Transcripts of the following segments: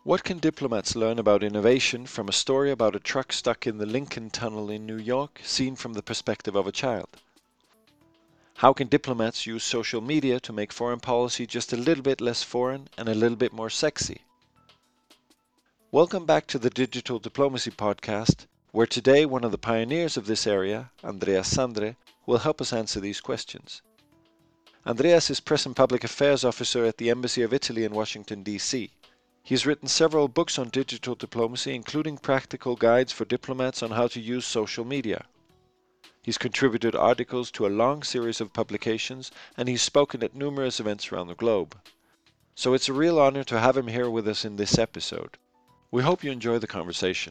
What can diplomats learn about innovation from a story about a truck stuck in the Lincoln Tunnel in New York, seen from the perspective of a child? How can diplomats use social media to make foreign policy just a little bit less foreign and a little bit more sexy? Welcome back to the Digital Diplomacy Podcast, where today one of the pioneers of this area, Andreas Sandre, will help us answer these questions. Andreas is Press and Public Affairs Officer at the Embassy of Italy in Washington, D.C. He has written several books on digital diplomacy, including practical guides for diplomats on how to use social media. He's contributed articles to a long series of publications, and he's spoken at numerous events around the globe. So it's a real honor to have him here with us in this episode. We hope you enjoy the conversation.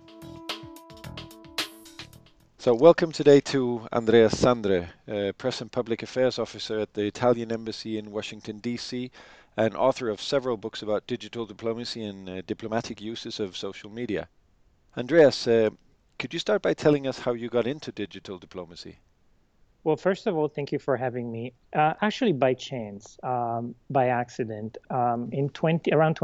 So welcome today to Andreas Sandre, Press and Public Affairs Officer at the Italian Embassy in Washington, D.C., and author of several books about digital diplomacy and diplomatic uses of social media. Andreas, could you start by telling us how you got into digital diplomacy? Well, first of all, thank you for having me. Actually, by chance, by accident, around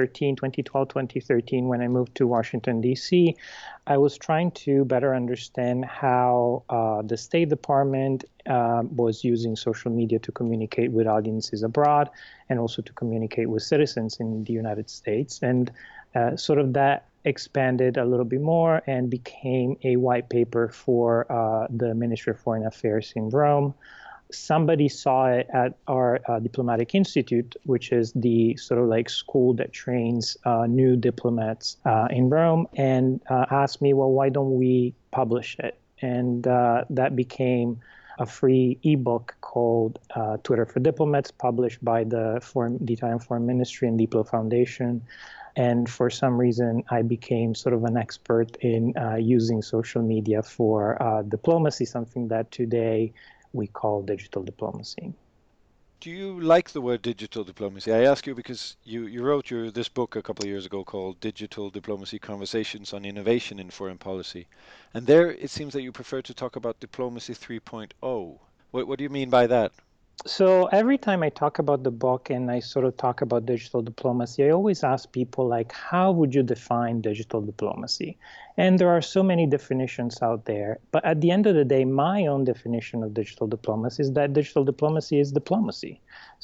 2012, 2013, when I moved to Washington, D.C., I was trying to better understand how the State Department was using social media to communicate with audiences abroad and also to communicate with citizens in the United States. And sort of that expanded a little bit more and became a white paper for the Ministry of Foreign Affairs in Rome. Somebody saw it at our Diplomatic Institute, which is the sort of like school that trains new diplomats in Rome, and asked me, well, why don't we publish it? And that became a free ebook called Twitter for Diplomats, published by the Italian Foreign Ministry and Diplo Foundation. And for some reason, I became sort of an expert in using social media for diplomacy, something that today we call digital diplomacy. Do you like the word digital diplomacy? I ask you because you wrote this book a couple of years ago called Digital Diplomacy Conversations on Innovation in Foreign Policy. And there it seems that you prefer to talk about Diplomacy 3.0. What do you mean by that? So every time I talk about the book and I sort of talk about digital diplomacy, I always ask people like, how would you define digital diplomacy? And there are so many definitions out there. But at the end of the day, my own definition of digital diplomacy is that digital diplomacy is diplomacy.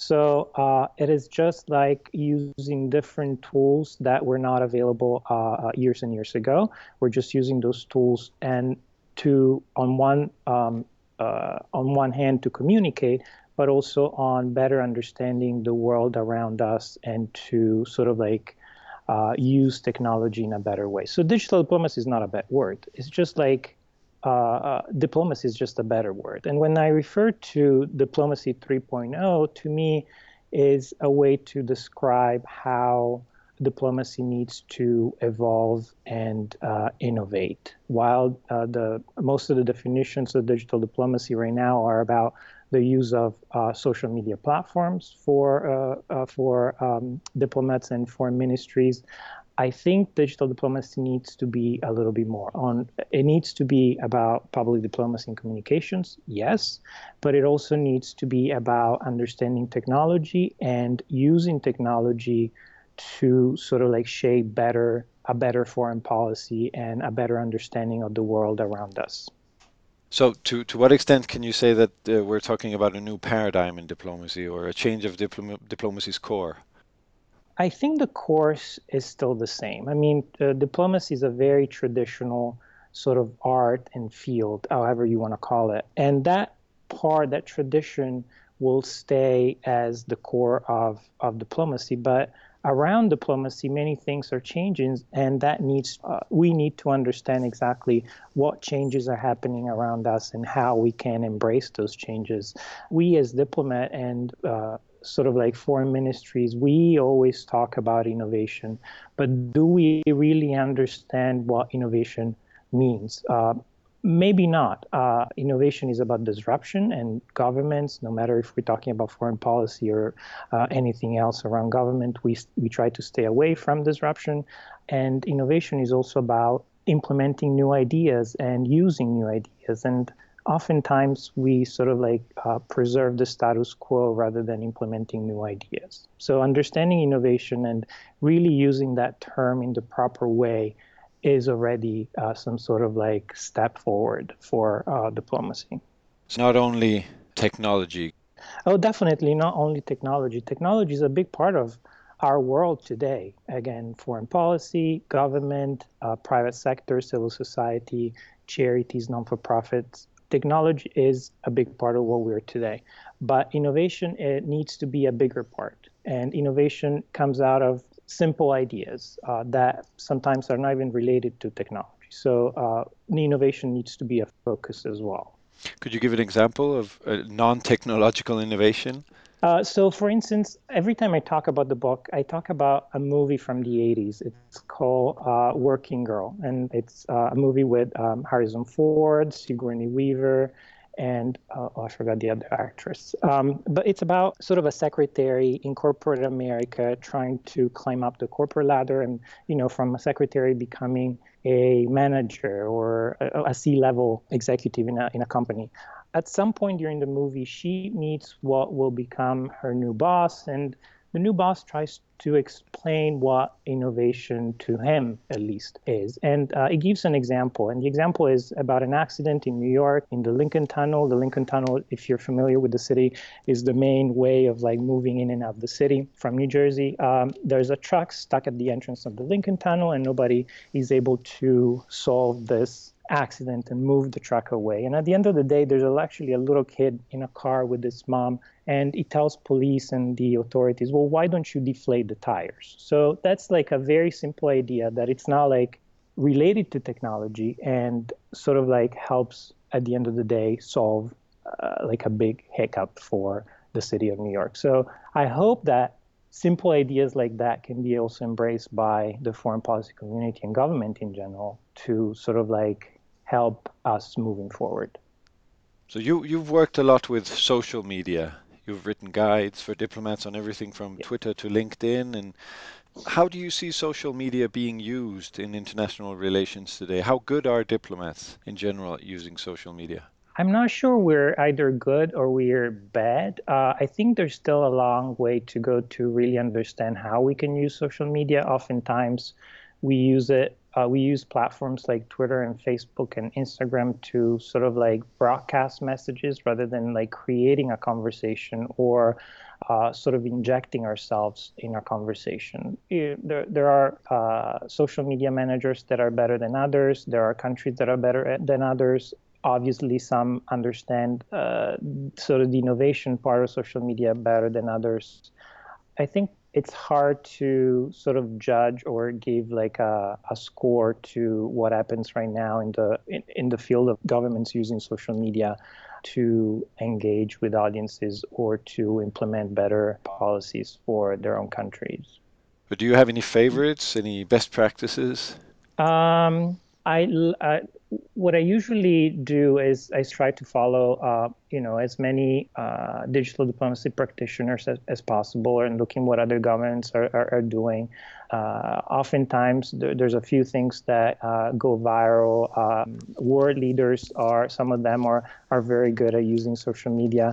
So it is just like using different tools that were not available years and years ago. We're just using those tools and on one hand to communicate, but also on better understanding the world around us and to sort of like use technology in a better way. So digital diplomacy is not a bad word. It's just like diplomacy is just a better word. And when I refer to diplomacy 3.0, to me is a way to describe how diplomacy needs to evolve and innovate. While most of the definitions of digital diplomacy right now are about the use of social media platforms for diplomats and foreign ministries, I think digital diplomacy needs to be a little bit more on. It needs to be about public diplomacy and communications, yes, but it also needs to be about understanding technology and using technology to sort of like shape a better foreign policy and a better understanding of the world around us. So to what extent can you say that we're talking about a new paradigm in diplomacy or a change of diplomacy's core? I think the course is still the same. I mean, diplomacy is a very traditional sort of art and field, however you want to call it. And that tradition will stay as the core of diplomacy. But around diplomacy, many things are changing, and we need to understand exactly what changes are happening around us and how we can embrace those changes. We as diplomat and sort of like foreign ministries, we always talk about innovation, but do we really understand what innovation means? Maybe not. Innovation is about disruption, and governments, no matter if we're talking about foreign policy or anything else around government, we try to stay away from disruption. And innovation is also about implementing new ideas and using new ideas. And oftentimes we sort of like preserve the status quo rather than implementing new ideas. So understanding innovation and really using that term in the proper way is already some sort of like step forward for diplomacy. It's not only technology. Oh, definitely not only technology. Technology is a big part of our world today. Again, foreign policy, government, private sector, civil society, charities, non-for-profits. Technology is a big part of what we're today. But innovation, it needs to be a bigger part. And innovation comes out of simple ideas that sometimes are not even related to technology. So innovation needs to be a focus as well. Could you give an example of a non-technological innovation? So, for instance, every time I talk about the book, I talk about a movie from the 80s. It's called Working Girl, and it's a movie with Harrison Ford, Sigourney Weaver, and I forgot the other actress. But it's about sort of a secretary in corporate America trying to climb up the corporate ladder and, from a secretary becoming a manager or a C-level executive in a company. At some point during the movie, she meets what will become her new boss, and the new boss tries to explain what innovation to him, at least, is. And it gives an example. And the example is about an accident in New York in the Lincoln Tunnel. The Lincoln Tunnel, if you're familiar with the city, is the main way of like moving in and out of the city from New Jersey. There's a truck stuck at the entrance of the Lincoln Tunnel, and nobody is able to solve this accident and move the truck away. And at the end of the day, there's actually a little kid in a car with his mom, and he tells police and the authorities, well, why don't you deflate the tires? So that's like a very simple idea that it's not like related to technology and sort of like helps at the end of the day solve like a big hiccup for the city of New York. So I hope that simple ideas like that can be also embraced by the foreign policy community and government in general to sort of like help us moving forward. So you've worked a lot with social media. You've written guides for diplomats on everything from Yeah. Twitter to LinkedIn. And how do you see social media being used in international relations today? How good are diplomats in general at using social media? I'm not sure we're either good or we're bad. I think there's still a long way to go to really understand how we can use social media. Oftentimes, we use it. We use platforms like Twitter and Facebook and Instagram to sort of like broadcast messages rather than like creating a conversation or sort of injecting ourselves in a conversation. There are social media managers that are better than others. There are countries that are better than others. Obviously, some understand sort of the innovation part of social media better than others. I think it's hard to sort of judge or give like a score to what happens right now in the field of governments using social media to engage with audiences or to implement better policies for their own countries. But do you have any favorites, any best practices? Um, I what I usually do is I try to follow, as many digital diplomacy practitioners as possible, and looking what other governments are doing. Oftentimes, there's a few things that go viral. World leaders some of them are very good at using social media.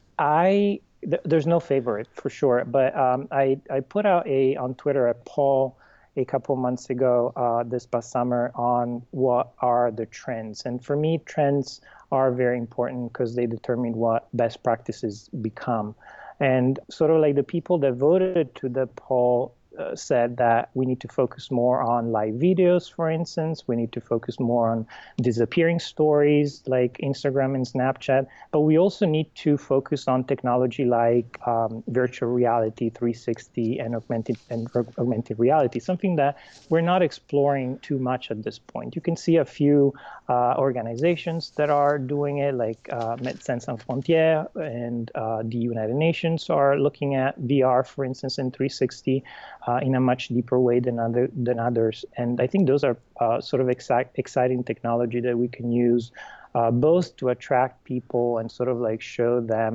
There's no favorite for sure, but I put out on Twitter a poll a couple months ago, this past summer, on what are the trends. And for me, trends are very important because they determine what best practices become. And sort of like the people that voted to the poll said that we need to focus more on live videos, for instance. We need to focus more on disappearing stories like Instagram and Snapchat. But we also need to focus on technology like virtual reality, 360, and augmented reality, something that we're not exploring too much at this point. You can see a few organizations that are doing it, like Médecins Sans Frontières and the United Nations are looking at VR, for instance, in 360 in a much deeper way than others. And I think those are sort of exciting technology that we can use both to attract people and sort of like show them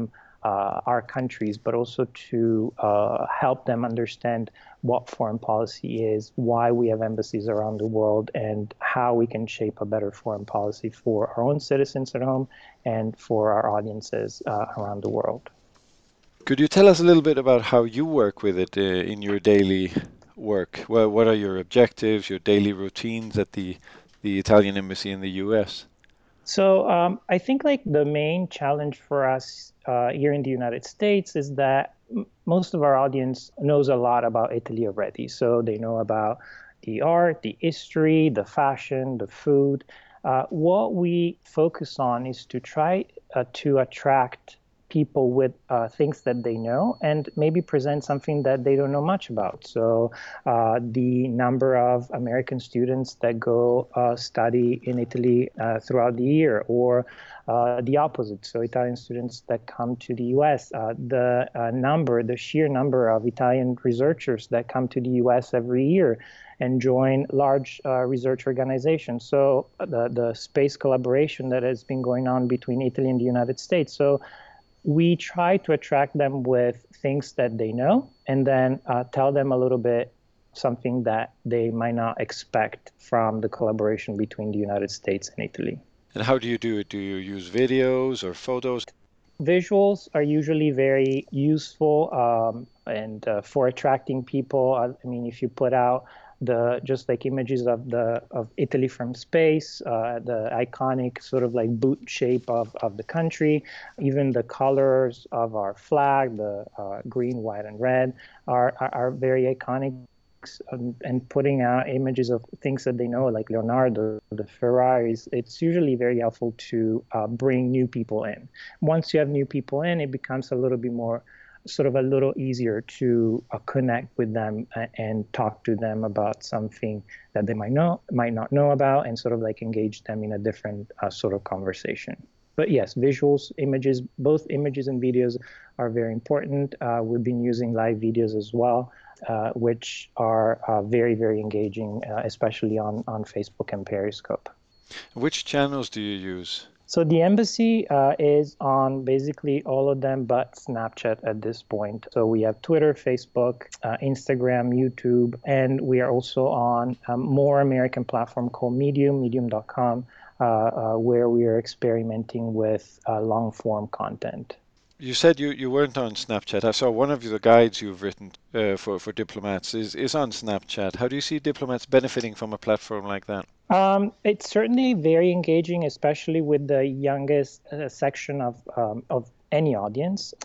our countries, but also to help them understand what foreign policy is, why we have embassies around the world, and how we can shape a better foreign policy for our own citizens at home and for our audiences around the world. Could you tell us a little bit about how you work with it in your daily work? Well, what are your objectives, your daily routines at the Italian embassy in the US? So I think like the main challenge for us here in the United States is that most of our audience knows a lot about Italy already. So they know about the art, the history, the fashion, the food. What we focus on is to try to attract people with things that they know and maybe present something that they don't know much about. So the number of American students that go study in Italy throughout the year, or the opposite. So Italian students that come to the US, the sheer number of Italian researchers that come to the US every year and join large research organizations. So the space collaboration that has been going on between Italy and the United States. So we try to attract them with things that they know, and then tell them a little bit something that they might not expect from the collaboration between the United States and Italy. And how do you do it? Do you use videos or photos? Visuals are usually very useful and for attracting people. I mean, if you put out the just like images of Italy from space, the iconic sort of like boot shape of the country, even the colors of our flag, the green, white, and red, are very iconic. And putting out images of things that they know, like Leonardo, the Ferraris, it's usually very helpful to bring new people in. Once you have new people in, it becomes a little bit more, sort of a little easier to connect with them and talk to them about something that they might not know about, and sort of like engage them in a different sort of conversation. But yes, visuals, images, both images and videos are very important. We've been using live videos as well, which are very, very engaging, especially on Facebook and Periscope. Which channels do you use? So the embassy is on basically all of them but Snapchat at this point. So we have Twitter, Facebook, Instagram, YouTube, and we are also on a more American platform called Medium, medium.com, where we are experimenting with long form content. You said you weren't on Snapchat. I saw one of the guides you've written for diplomats is on Snapchat. How do you see diplomats benefiting from a platform like that? It's certainly very engaging, especially with the youngest section of any audience.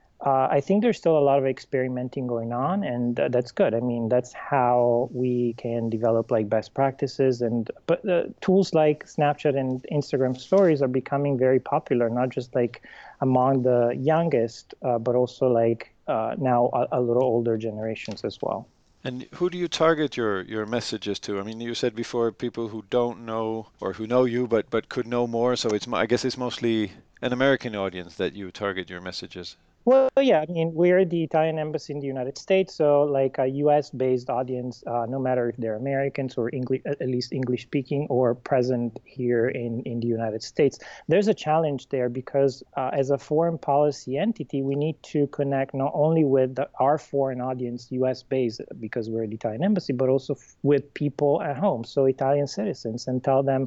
I think there's still a lot of experimenting going on, and that's good. I mean, that's how we can develop like best practices. But tools like Snapchat and Instagram Stories are becoming very popular, not just like among the youngest, but also like now a little older generations as well. And who do you target your messages to? I mean, you said before people who don't know or who know you but could know more. So I guess it's mostly an American audience that you target your messages. Well, yeah, I mean, we're the Italian embassy in the United States, so like a US-based audience, no matter if they're Americans or English, at least English speaking, or present here in the United States. There's a challenge there because as a foreign policy entity, we need to connect not only with our foreign audience, US-based, because we're the Italian embassy, but also with people at home, so Italian citizens, and tell them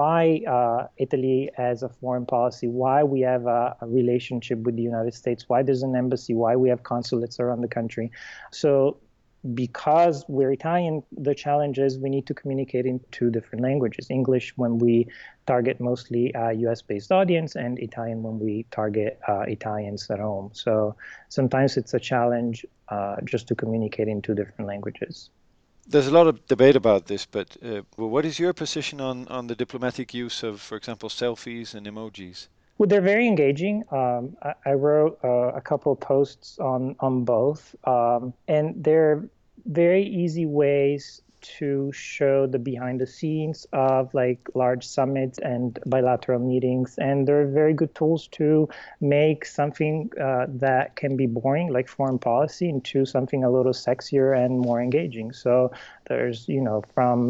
why Italy has a foreign policy, why we have a relationship with the United States, why there's an embassy, why we have consulates around the country. So because we're Italian, the challenge is we need to communicate in two different languages. English when we target mostly a US-based audience, and Italian when we target Italians at home. So sometimes it's a challenge just to communicate in two different languages. There's a lot of debate about this, but what is your position on the diplomatic use of, for example, selfies and emojis? Well, they're very engaging. I wrote a couple of posts on both, and they're very easy ways to show the behind the scenes of like large summits and bilateral meetings. And they're very good tools to make something that can be boring, like foreign policy, into something a little sexier and more engaging. So there's, from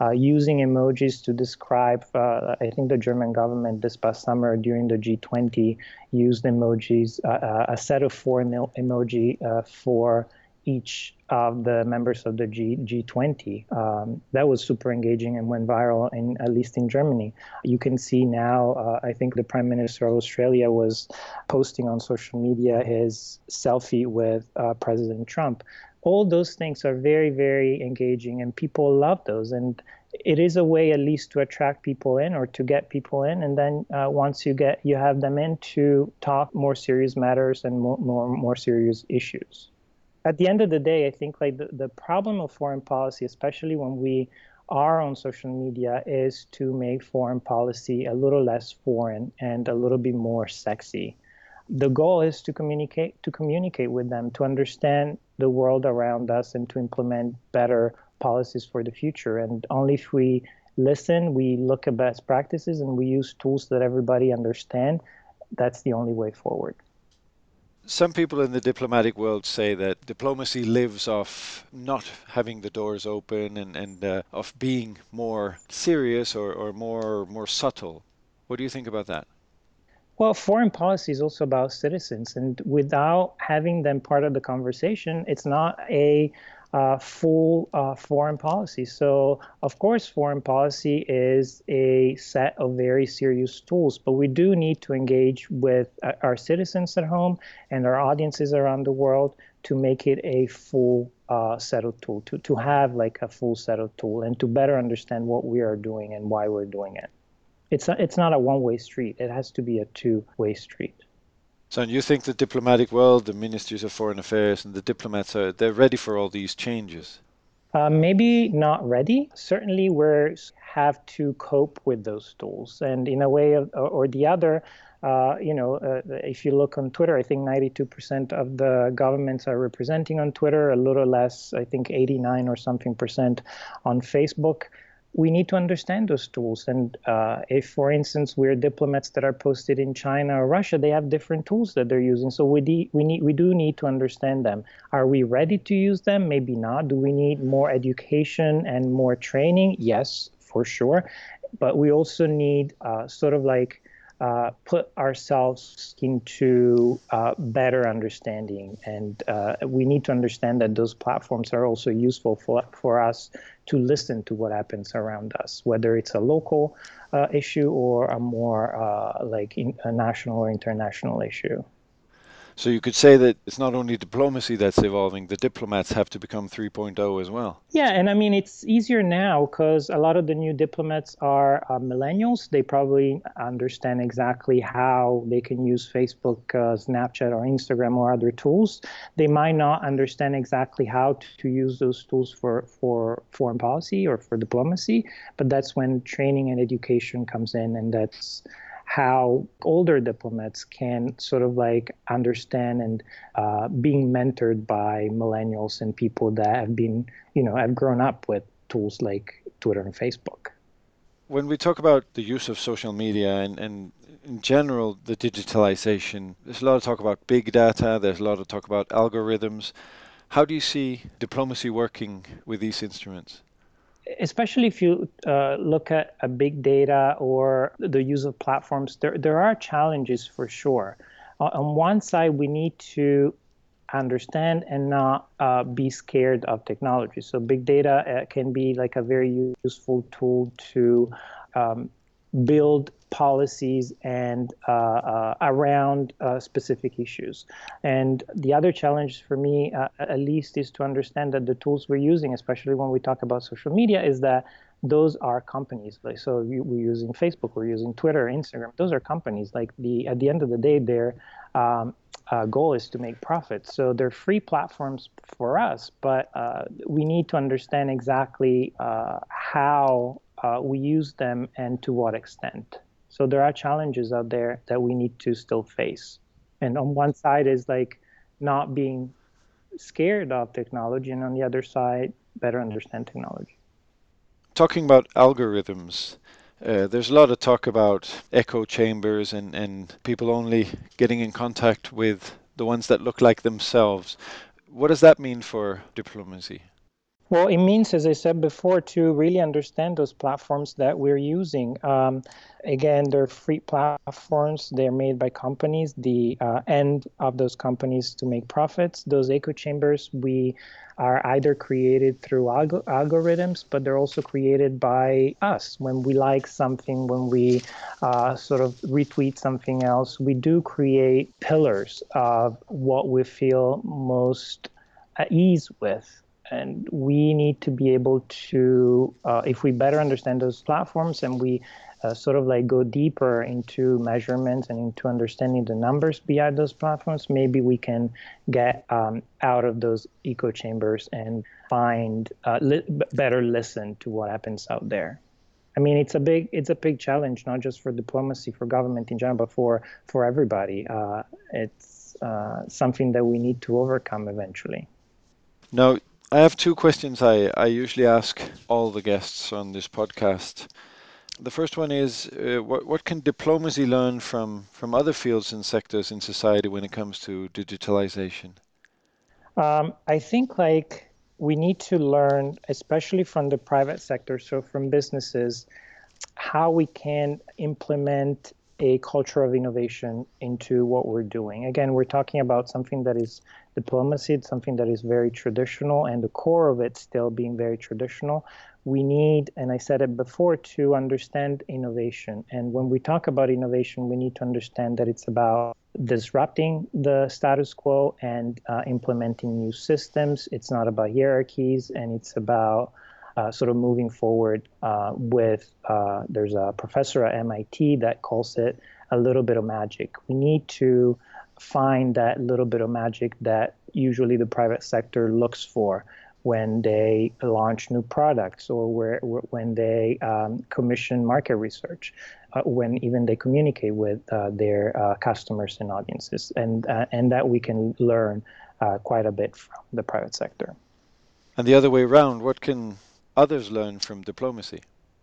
using emojis to describe. I think the German government this past summer during the G20 used emojis, a set of four emoji for each of the members of the G20. That was super engaging and went viral, at least in Germany. You can see now, I think the Prime Minister of Australia was posting on social media his selfie with President Trump. All those things are very, very engaging, and people love those. And it is a way, at least, to attract people in or to get people in. And then once you have them in, to talk more serious matters and more serious issues. At the end of the day, I think like the problem of foreign policy, especially when we are on social media, is to make foreign policy a little less foreign and a little bit more sexy. The goal is to communicate with them, to understand the world around us, and to implement better policies for the future. And only if we listen, we look at best practices, and we use tools that everybody understands, that's the only way forward. Some people in the diplomatic world say that diplomacy lives off not having the doors open and of being more serious or more subtle. What do you think about that? Well, foreign policy is also about citizens, and without having them part of the conversation, it's not a full foreign policy. So, of course, foreign policy is a set of very serious tools, but we do need to engage with our citizens at home and our audiences around the world to make it a full set of tool, to have like a full set of tool, and to better understand what we are doing and why we're doing it. It's not a one-way street. It has to be a two-way street. So you think the diplomatic world, the ministries of foreign affairs and the diplomats, they're ready for all these changes? Maybe not ready. Certainly, we have to cope with those tools. And in a way or the other, if you look on Twitter, I think 92% of the governments are representing on Twitter, a little less, I think 89 or something percent on Facebook. We need to understand those tools. And if, for instance, we're diplomats that are posted in China or Russia, they have different tools that they're using. So we do need to understand them. Are we ready to use them? Maybe not. Do we need more education and more training? Yes, for sure. But we also need put ourselves into better understanding. And we need to understand that those platforms are also useful for us to listen to what happens around us, whether it's a local issue or a more a national or international issue. So you could say that it's not only diplomacy that's evolving, the diplomats have to become 3.0 as well. Yeah, and I mean, it's easier now because a lot of the new diplomats are millennials. They probably understand exactly how they can use Facebook, Snapchat, or Instagram or other tools. They might not understand exactly how to use those tools for foreign policy or for diplomacy, but that's when training and education comes in, and that's how older diplomats can sort of like understand and being mentored by millennials and people that have been, have grown up with tools like Twitter and Facebook. When we talk about the use of social media and in general the digitalization, there's a lot of talk about big data, there's a lot of talk about algorithms. How do you see diplomacy working with these instruments? Especially if you look at a big data or the use of platforms, there are challenges for sure. On one side, we need to understand and not be scared of technology. So big data can be like a very useful tool to build policies and around specific issues. And the other challenge for me, at least, is to understand that the tools we're using, especially when we talk about social media, is that those are companies. Like, so we're using Facebook, we're using Twitter, Instagram. Those are companies. Like at the end of the day, their goal is to make profits. So they're free platforms for us, but we need to understand exactly how we use them and to what extent. So there are challenges out there that we need to still face. And on one side is like not being scared of technology, and on the other side, better understand technology. Talking about algorithms, there's a lot of talk about echo chambers and people only getting in contact with the ones that look like themselves. What does that mean for diplomacy? Well, it means, as I said before, to really understand those platforms that we're using. Again, they're free platforms. They're made by companies. The end of those companies to make profits. Those echo chambers, we are either created through algorithms, but they're also created by us. When we like something, when we sort of retweet something else, we do create pillars of what we feel most at ease with. And we need to be able to, if we better understand those platforms and we sort of like go deeper into measurements and into understanding the numbers behind those platforms, maybe we can get out of those echo chambers and find better listen to what happens out there. I mean, it's a big challenge, not just for diplomacy, for government in general, but for everybody. It's something that we need to overcome eventually. Now, I have two questions I usually ask all the guests on this podcast. The first one is what can diplomacy learn from other fields and sectors in society when it comes to digitalization? I think like we need to learn, especially from the private sector, so from businesses, how we can implement a culture of innovation into what we're doing. Again, we're talking about something that is diplomacy, it's something that is very traditional, and the core of it still being very traditional. We need, and I said it before, to understand innovation. And when we talk about innovation, we need to understand that it's about disrupting the status quo and implementing new systems. It's not about hierarchies, and it's about sort of moving forward there's a professor at MIT that calls it a little bit of magic. We need to find that little bit of magic that usually the private sector looks for when they launch new products or when they commission market research, when even they communicate with their customers and audiences, and that we can learn quite a bit from the private sector. And the other way around, what can others learn from diplomacy?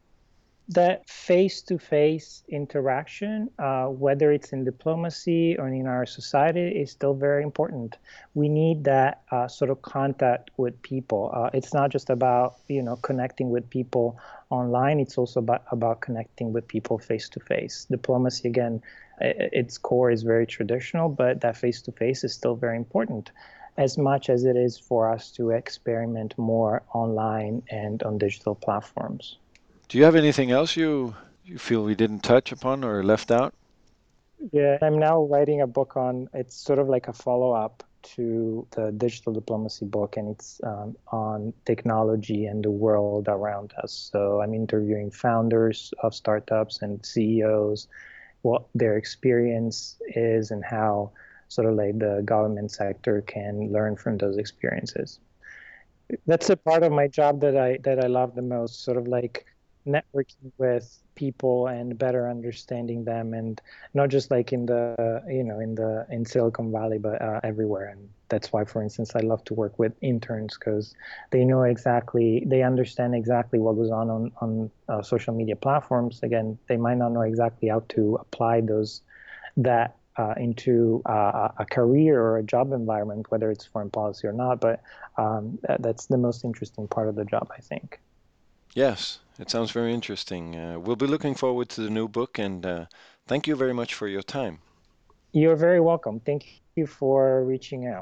That face-to-face interaction, whether it's in diplomacy or in our society, is still very important. We need that sort of contact with people. It's not just about connecting with people online. It's also about connecting with people face-to-face. Diplomacy, again, its core is very traditional, but that face-to-face is still very important, as much as it is for us to experiment more online and on digital platforms. Do you have anything else you feel we didn't touch upon or left out? Yeah, I'm now writing a book it's sort of like a follow-up to the digital diplomacy book, and it's on technology and the world around us. So I'm interviewing founders of startups and CEOs, what their experience is and how sort of like the government sector can learn from those experiences. That's a part of my job that I love the most, sort of like networking with people and better understanding them, and not just like in the in Silicon Valley, but everywhere. And that's why, for instance, I love to work with interns, because they understand exactly what goes on social media platforms. Again, they might not know exactly how to apply that into a career or a job environment, whether it's foreign policy or not. But that's the most interesting part of the job, I think. Yes, it sounds very interesting. We'll be looking forward to the new book, and thank you very much for your time. You're very welcome. Thank you for reaching out.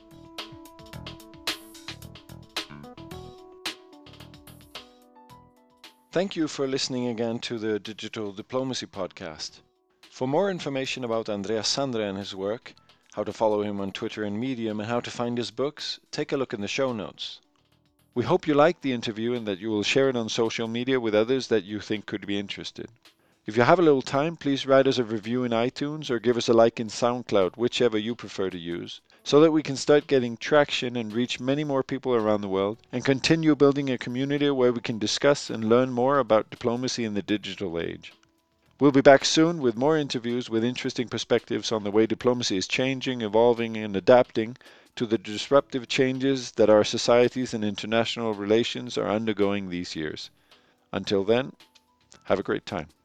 Thank you for listening again to the Digital Diplomacy Podcast. For more information about Andreas Sandre and his work, how to follow him on Twitter and Medium, and how to find his books, take a look in the show notes. We hope you liked the interview and that you will share it on social media with others that you think could be interested. If you have a little time, please write us a review in iTunes or give us a like in SoundCloud, whichever you prefer to use, so that we can start getting traction and reach many more people around the world and continue building a community where we can discuss and learn more about diplomacy in the digital age. We'll be back soon with more interviews with interesting perspectives on the way diplomacy is changing, evolving, and adapting to the disruptive changes that our societies and international relations are undergoing these years. Until then, have a great time.